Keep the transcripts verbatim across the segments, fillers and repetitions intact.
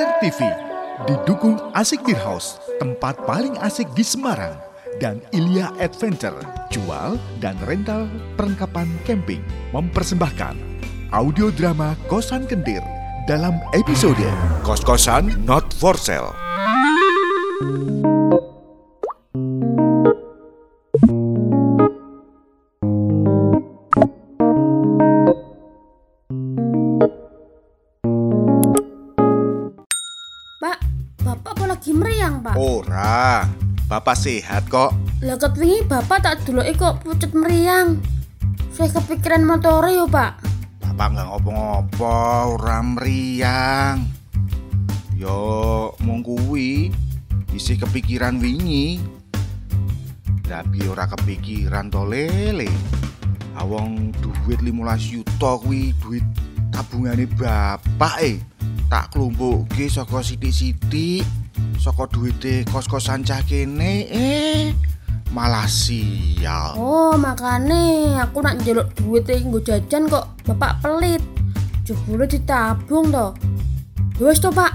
Air T V didukung Asik Beer House, tempat paling asik di Semarang, dan Ilya Adventure, jual dan rental perlengkapan camping, mempersembahkan audio drama Kosan Kendir dalam episode Kos-Kosan Not For Sale. Meriang, Pak. Ora, Bapak sehat kok. Lah kepingi Bapak tak deloki kok pucet meriang. Saya kepikiran motore yo, Pak. Bapak nggak ngopo-ngopo, ora meriang. Yo, mung kuwi isih kepikiran wingi. Tapi ora kepikiran to lele. Awong duit limolas juta kuwi duit tabungane Bapak eh. Tak klumpukke saka sithik-sithik. Saka duwite kos-kosan cah kene eh malah sial. Oh, makane aku nak njaluk duit e nggo jajan kok Bapak pelit. Jebule ditabung to. Wis to, Pak.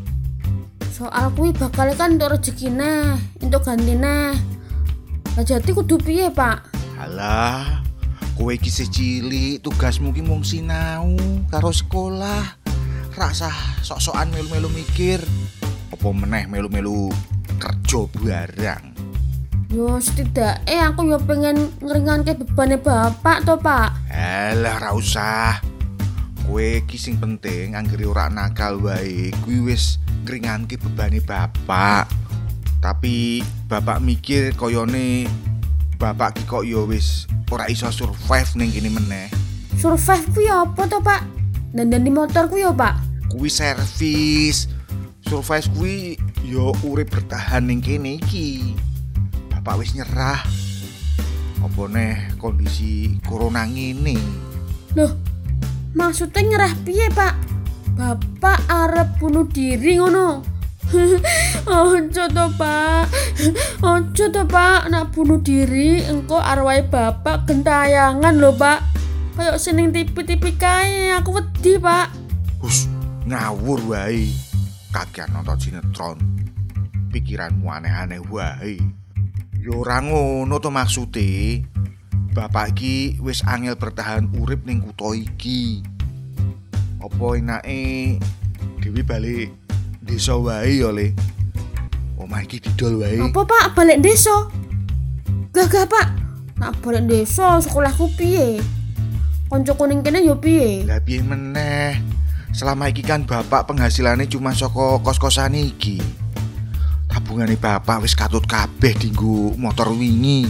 Soal kuwi bakal kan entuk rezekine, entuk gantine. Lah jati kudu piye, Pak? Halah, kowe iki isih cilik, tugasmu ki mung sinau karo sekolah. Rasah sok-sokan melu-melu mikir. Apa meneh melu-melu kerja barang. Yo setidaknya aku yo pengen ngeringanke bebane Bapak to, Pak. Alah ra usah. Kowe iki sing penting anggere ora nakal wae, kuwi wis ngringanke bebane Bapak. Tapi Bapak mikir koyone Bapak ki kok yo wis ora iso survive ning kene meneh. Survive kuwi apa to, Pak? Dandani motor kuwi yo, Pak. Kuwi servis. Survive kuwi yo urip bertahan ning kene iki. Bapak wis nyerah. Apa neh kondisi corona ngene. Loh, maksudnya nyerah piye, Pak? Bapak arep bunuh diri ngono. Ojo to, Pak. Ojo to, Pak. Nak bunuh diri engko arwahe Bapak gentayangan lho, Pak. Kayak seneng tipi-tipi kae, aku wedi, Pak. Hus, ngawur wae. Kagian nonton sinetron. Pikiranmu aneh-aneh wae. Yo ora ngono to maksude. Bapak iki wis angel bertahan urip ning kutha iki. Apa enake dhewe balik desa wae yo le. Omah iki didol wae. Apa, Pak, balik desa? Gagah, Pak. Nak balik desa sekolahku piye? Koncoku ning kene yo piye? Lah piye meneh? Selama iki kan Bapak penghasilannya cuma saka kos-kosan iki. Tabungane Bapak wis katut kabeh dienggo motor wingi.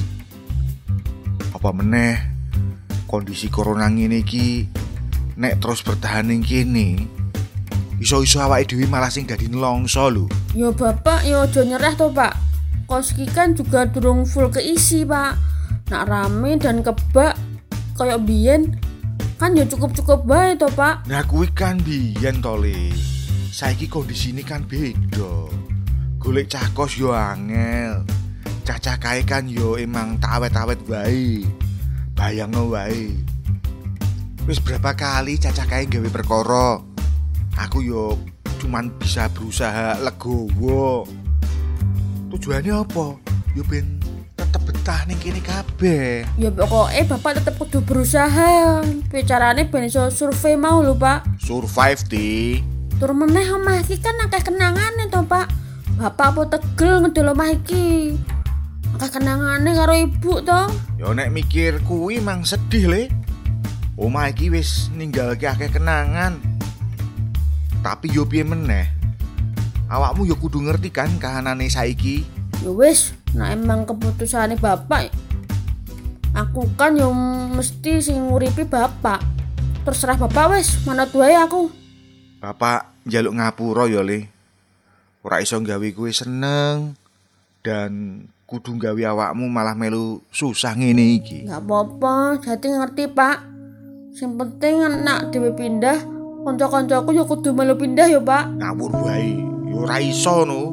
Apa meneh kondisi corona ngene iki nek terus bertahan ning kene, iso-iso awake dhewe malah sing dadi nelongso lho. Yo Bapak yo aja nyerah to, Pak. Kos iki kan juga durung full keisi, Pak. Nak rame dan kebak kayak biyen kan ya cukup-cukup bae to, Pak. Nah kuwi kan biyen to le. Saiki kondisine kan beda. Golek cah kos yo angel. Cacah kae kan yo emang tak awet-awet wae. Bayangno wae. Wis berapa kali cacah kae gawe perkara. Aku yo cuman bisa berusaha legowo. Tujuannya apa? Yo ben tetep betah ning kene kabeh. Ya pokoknya Bapak tetep kudu berusaha. Bicarane ben iso survei mau lho, Pak. Survive di. Tur meneh omah iki kan akeh kenangane to, Pak. Bapak apa tegel ngedol omah iki. Akeh kenangane karo ibu to. Yo nek mikir kuwi mang sedih le. Omah iki wis ninggalke akeh kenangan. Tapi yo piye meneh? Awakmu yo kudu ngerti kan kahanane saiki. Ya wis, nah emang keputusane Bapak. Aku kan yang mesti sing nguripi Bapak. Terserah Bapak wis, manut wae aku. Bapak njaluk ngapura ya le. Ora iso gawe kowe seneng dan kudu gawe awakmu malah melu susah ngene iki. Enggak apa-apa, jadi ngerti, Pak. Sing penting nak dhewe pindah, kanca-kancaku ya kudu melu pindah ya, Pak. Ngawur wae, ya ora iso no.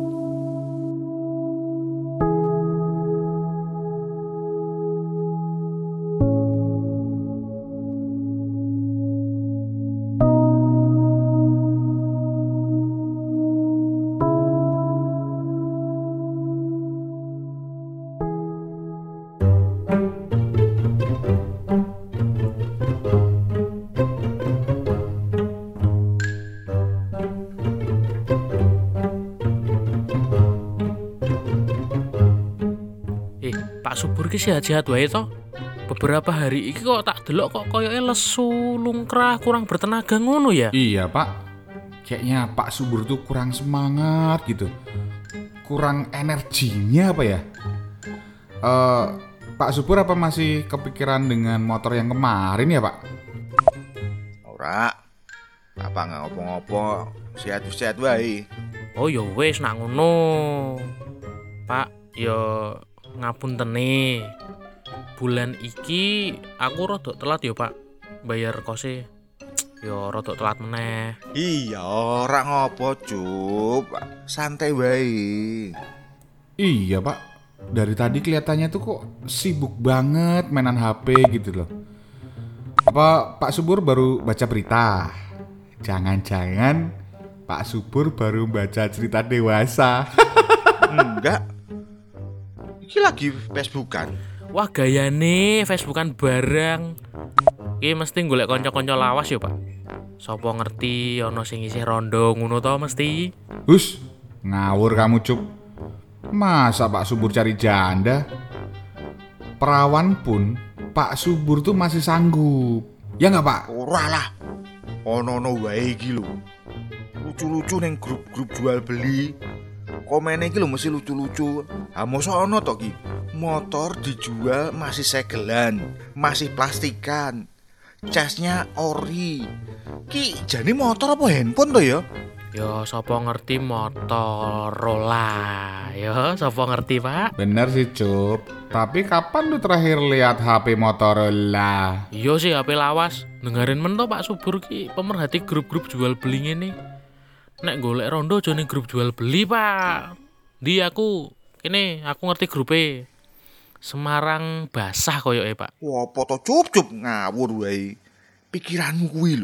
Pak Subur ki sehat-sehat wae to. Beberapa hari iki kok tak delok kok koyoke lesu, lungkrah, kurang bertenaga ngono ya. Iya Pak, kayaknya Pak Subur tuh kurang semangat gitu, kurang energinya apa ya. uh, Pak Subur apa masih kepikiran dengan motor yang kemarin ya Pak? Ora, apa nggak ngopo-ngopo, sehat-sehat wae. Oh ya wis nak ngono. Pak, ya ngapuntene. Bulan iki aku rada telat ya Pak bayar kose. Ya rada telat meneh. Iya, ora ngopo, Cup. Santai wae. Iya Pak, dari tadi kelihatannya tuh kok sibuk banget mainan H P gitu loh. Apa Pak Subur baru baca berita? Jangan-jangan Pak Subur baru baca cerita dewasa. Enggak. Iki lagi Facebookan. Wah gayane Facebookan barang. Iki mesti golek kanca-kanca lawas ya Pak. Sopo ngerti ana sing isih rondo ngono to mesti. Hus, ngawur kamu Cup. Masa Pak Subur cari janda? Perawan pun Pak Subur tuh masih sanggup. Ya nggak Pak? Ora lah. Ono-ono wae iki lho. Lucu-lucu ning grup-grup jual beli. Komene iki lho mesti lucu-lucu. Ha mosok ono to ki. Motor dijual masih segelan, masih plastikan. Casnya ori. Ki jane motor apa handphone to ya? Ya sapa ngerti Motorola. Ya sapa ngerti Pak? Bener sih Cup. Tapi kapan lu terakhir lihat H P Motorola? Iya sih H P lawas. Dengerin men to Pak Subur ki pemerhati grup-grup jual beli ngene. Nek golek rondo aja ning grup jual beli Pak. Di aku kene aku ngerti grupe. Semarang basah koyoke Pak. Wah, apa to Cup-cup ngawur wae. Pikiranmu kuwi lho.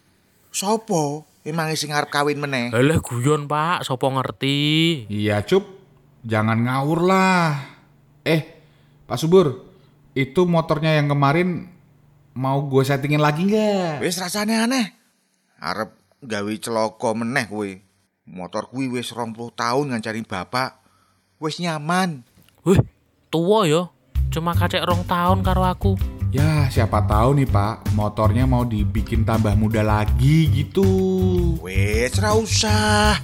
Sopo emang sing arep kawin meneh? Halah guyon Pak, sapa ngerti. Iya Cup, jangan ngawur lah. Eh, Pak Subur, itu motornya yang kemarin mau gue settingin lagi nggak? Wis rasane aneh. Arep gawe celaka meneh kowe. Motor kuwi wis rong puluh tahun ngancani bapak. Wis nyaman. Wih, tua ya. Cuma kacek rong tahun karo aku. Ya siapa tahu nih Pak, motornya mau dibikin tambah muda lagi gitu. Wis ra usah.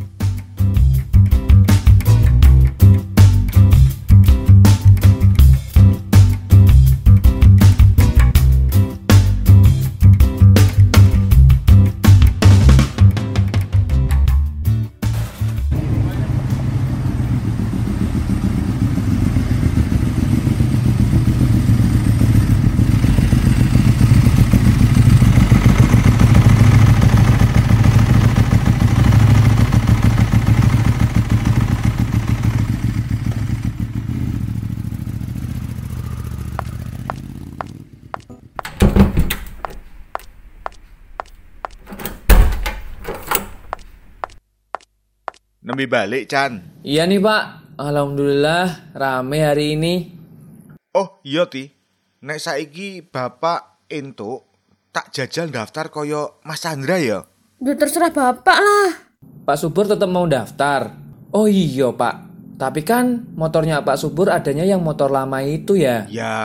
Nembe balik, Chan. Iya nih Pak, alhamdulillah rame hari ini. Oh iya Ti, nek saiki bapak entuk tak jajal daftar koyo Mas Chandra ya. Udah terserah bapak lah. Pak Subur tetap mau daftar. Oh iya Pak, tapi kan motornya Pak Subur adanya yang motor lama itu ya. Ya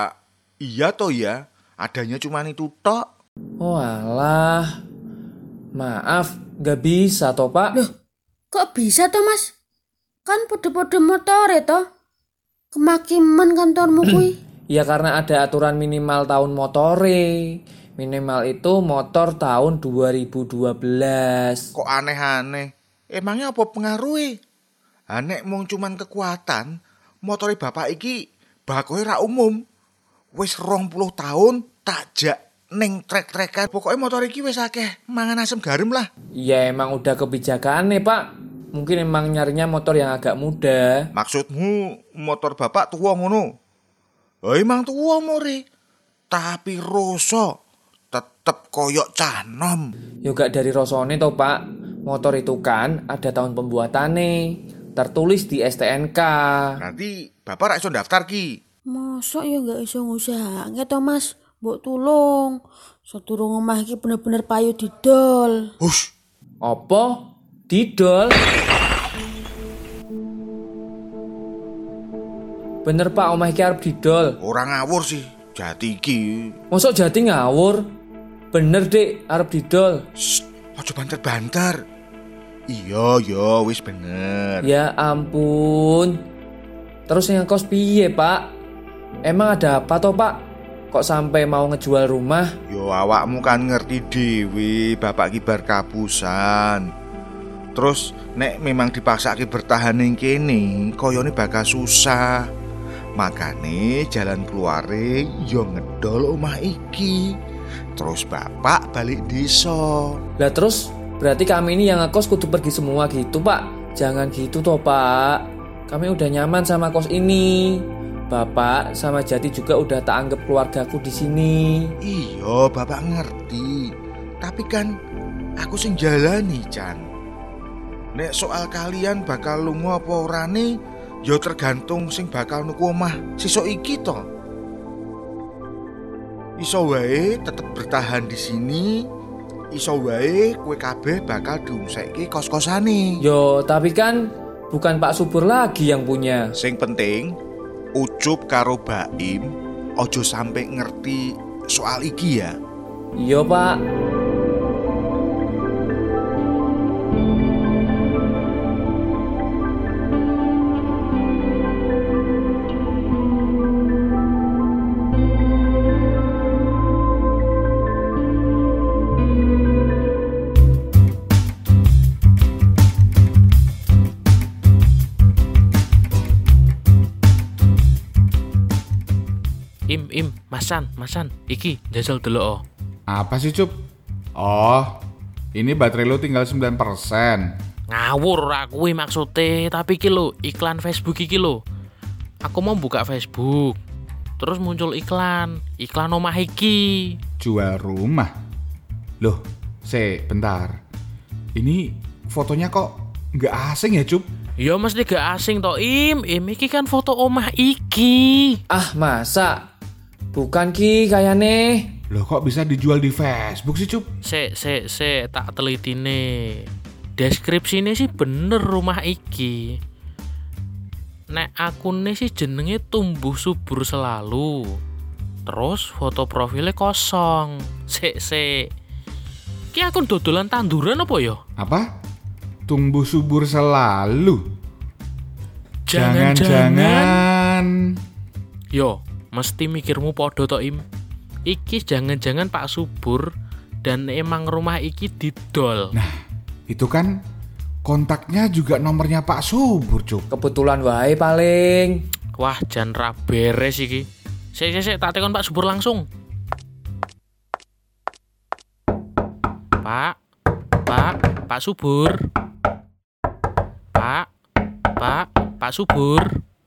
iya toh ya, adanya cuma itu tok. Oh alah, maaf gak bisa toh Pak. Loh, kok bisa toh Mas? Kan pode-pode motore toh. Kemakiman kantormu kuwi. Ya karena ada aturan minimal tahun motore. Minimal itu motor tahun dua ribu dua belas. Kok aneh-aneh? Emangnya apa pengaruhnya? Anek mung cuman kekuatan, motore bapak iki bakoe ra umum. Wis rong puluh tahun tak jak ning trek-trekan. Pokoknya motor iki wis akeh mangan asam garam lah. Ya emang udah kebijakan nih Pak. Mungkin emang nyarinya motor yang agak muda. Maksudmu motor bapak tua ngono? Oh emang tua more. Tapi rosok tetep koyok canom. Juga dari Rosone toh Pak. Motor itu kan ada tahun pembuatannya. Tertulis di S T N K. Nanti bapak ra iso daftar ki. Mosok ya gak iso ngusahake toh Mas. Mbok tulung. Sadurung omah iki bener-bener payu didol. Hush. Apa? Didol? Bener Pak, omah iki arep didol. Orang ngawur sih, jati iki. Mosok Jati ngawur? Bener Dik, arep didol. Shh, aja banter-banter. Iya, iya, wis bener. Ya ampun. Terus yang kos piye Pak? Emang ada apa toh Pak? Kok sampai mau ngejual rumah? Yo awakmu kan ngerti dewi, bapak kibar kapusan. Terus nek memang dipaksake bertahan ning kene, koyone bakal susah. Makane jalan keluare yo ngedol omah iki. Terus bapak balik desa. Lah terus berarti kami ini yang ngekos kudu pergi semua gitu Pak? Jangan gitu toh Pak. Kami udah nyaman sama kos ini. Bapak sama Jati juga udah tak anggap keluargaku di sini. Iya, bapak ngerti. Tapi kan aku sing jalani, Chan. Nek soal kalian bakal lunga apa orane, ya tergantung sing bakal nuku omah sesuk iki to. Iso wae tetep bertahan di sini. Iso wae kowe kabeh bakal diungsekke kos-kosane. Yo, tapi kan bukan Pak Subur lagi yang punya. Sing penting Ucup karo Baim ojo sampai ngerti soal iki ya. Iya Pak. Im, im, masan, masan, iki jajal delok oh. Apa sih Cup? Oh, ini baterai lo tinggal sembilan persen. Ngawur aku maksudnya, tapi iki lho, iklan Facebook iki lho. Aku mau buka Facebook, terus muncul iklan, iklan omah iki. Jual rumah? Loh, se, bentar. Ini fotonya kok nggak asing ya Cup? Ya mesti gak asing toh Im, Im iki kan foto omah iki. Ah masa? Bukan Ki kayane. Loh kok bisa dijual di Facebook sih Cup? Se, se, se, tak teliti nih. Deskripsinya sih bener rumah iki. Nek akunnya sih jenenge tumbuh subur selalu. Terus foto profilnya kosong. Se, se. Ki akun dodolan tanduran apa ya? Apa? Tumbuh subur selalu? Jangan-jangan. Yo, mesti mikirmu podo to Im. Iki jangan-jangan Pak Subur dan emang rumah iki didol. Nah, itu kan kontaknya juga nomornya Pak Subur, Cuk. Kebetulan wae paling. Wah, jan ra beres iki. Sik sik sik tak telepon Pak Subur langsung. Pak. Pak, Pak Subur. Pak. Pak, Pak Subur.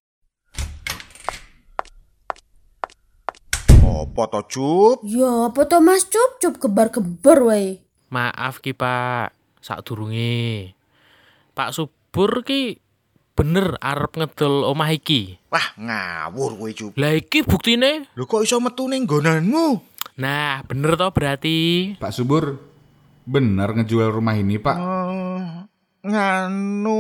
Apa to, Cup? Ya apa to Mas Cup, Cup gebar-gebar wae. Maaf ki Pak, sadurunge. Pak Subur ki bener arep ngedol omah iki. Wah, ngawur kowe, Cup. Lah iki buktine. Lho kok iso metu ning nggonanmu? Nah, bener toh berarti. Pak Subur, bener ngejual rumah ini, Pak? Uh, nganu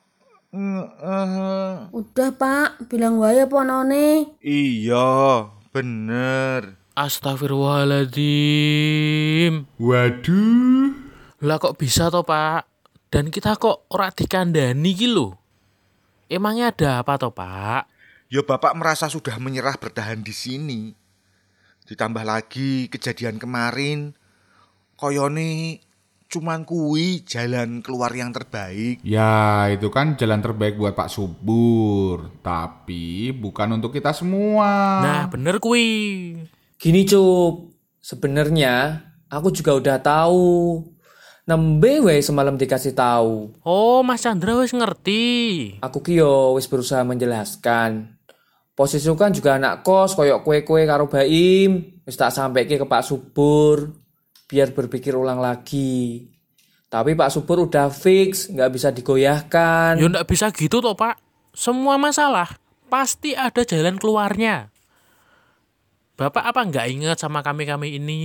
uh, Udah Pak, bilang wae apa onone. Iya, bener. Astagfirullahaladzim. Waduh. Lah kok bisa toh Pak? Dan kita kok ora dikandani iki lho. Emangnya ada apa toh Pak? Ya bapak merasa sudah menyerah bertahan di sini. Ditambah lagi kejadian kemarin, koyone cuman kuwi jalan keluar yang terbaik. Ya, itu kan jalan terbaik buat Pak Subur. Tapi bukan untuk kita semua. Nah, bener kuwi. Gini Cup, sebenarnya aku juga udah tahu. Nembe wae semalam dikasih tahu. Oh, Mas Chandra wis ngerti. Aku ki yo wis berusaha menjelaskan. Posisiku kan juga anak kos koyok kue-kue karo Baim. Wis tak sampaikan ke Pak Subur biar berpikir ulang lagi. Tapi Pak Subur udah fix, nggak bisa digoyahkan. Ya nggak bisa gitu toh Pak. Semua masalah pasti ada jalan keluarnya. Bapak apa nggak ingat sama kami-kami ini?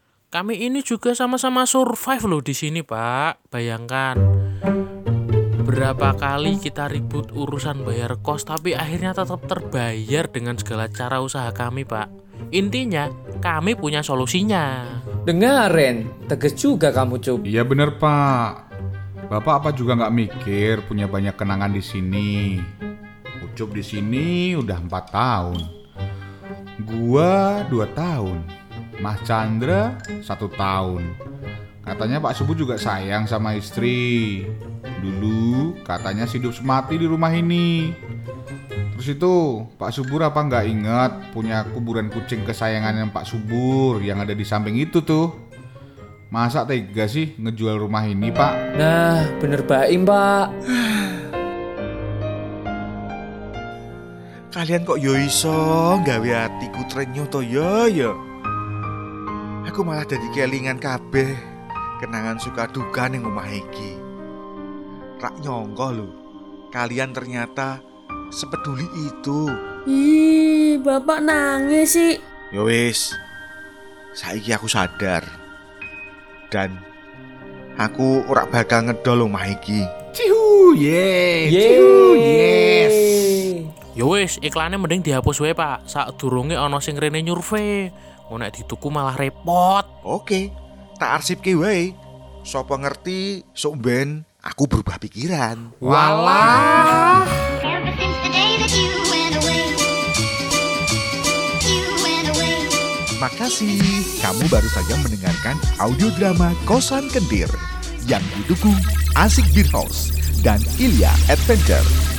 Kami ini juga sama-sama survive loh di sini Pak. Bayangkan. Berapa kali kita ribut urusan bayar kos, tapi akhirnya tetap terbayar dengan segala cara usaha kami, Pak. Intinya, kami punya solusinya. Dengarin, tegas juga kamu, Cup. Iya bener Pak. Bapak apa juga nggak mikir punya banyak kenangan di sini. Ucup di sini udah empat tahun. Gua dua tahun. Mas Chandra satu tahun. Katanya Pak Subur juga sayang sama istri. Dulu katanya hidup semati di rumah ini. Terus itu Pak Subur apa nggak ingat punya kuburan kucing kesayangannya Pak Subur yang ada di samping itu tuh. Masa tega sih ngejual rumah ini Pak? Nah, bener baim, Pak. Kalian kok yo iso gawe atiku trenyo to yo yo. Aku malah dadi kelingan kabeh kenangan suka duka ning omah iki. Rak nyongko lho, kalian ternyata sepeduli itu. Ih, Bapak nangis sih. Yo wis, saiki aku sadar. Dan aku ora bakal ngedol omah iki. Cihu, yes. Yeay. Cihu, yes. Ya wis, iklannya mending dihapus wae, Pak. Sadurunge ana sing rene nyurvei. Ngono nek dituku malah repot. Oke, tak arsipke wae. Sopo ngerti sok ben aku berubah pikiran. Walah. Ever since the day that you went away, you went away. Makasih, kamu baru saja mendengarkan audio drama Kosan Kendir yang didukung Asik Beer House dan Ilya Adventure.